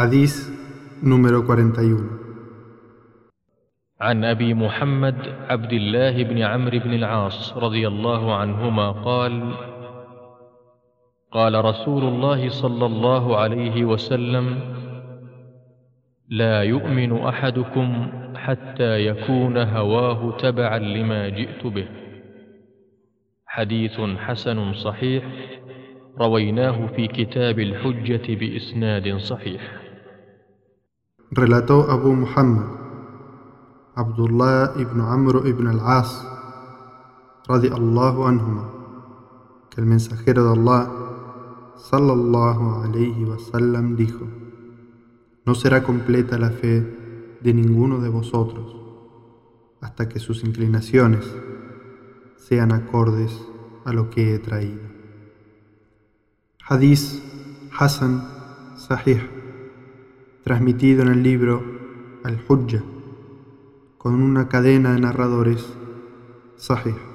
Hadís número 41. عن أبي محمد عبد الله بن عمرو بن العاص رضي الله عنهما قال: قال رسول الله صلى الله عليه وسلم: لا يؤمن أحدكم حتى يكون هواه تبعا لما جئت به. حديث حسن صحيح، رويناه في كتاب الحجة بإسناد صحيح. Relató Abu Muhammad, Abdullah ibn Amr ibn al-As, radiallahu anhuma, que el mensajero de Allah, sallallahu alayhi wasallam, dijo: no será completa la fe de ninguno de vosotros hasta que sus inclinaciones sean acordes a lo que he traído. Hadís Hasan Sahih, transmitido en el libro Al-Hujja, con una cadena de narradores Sahih.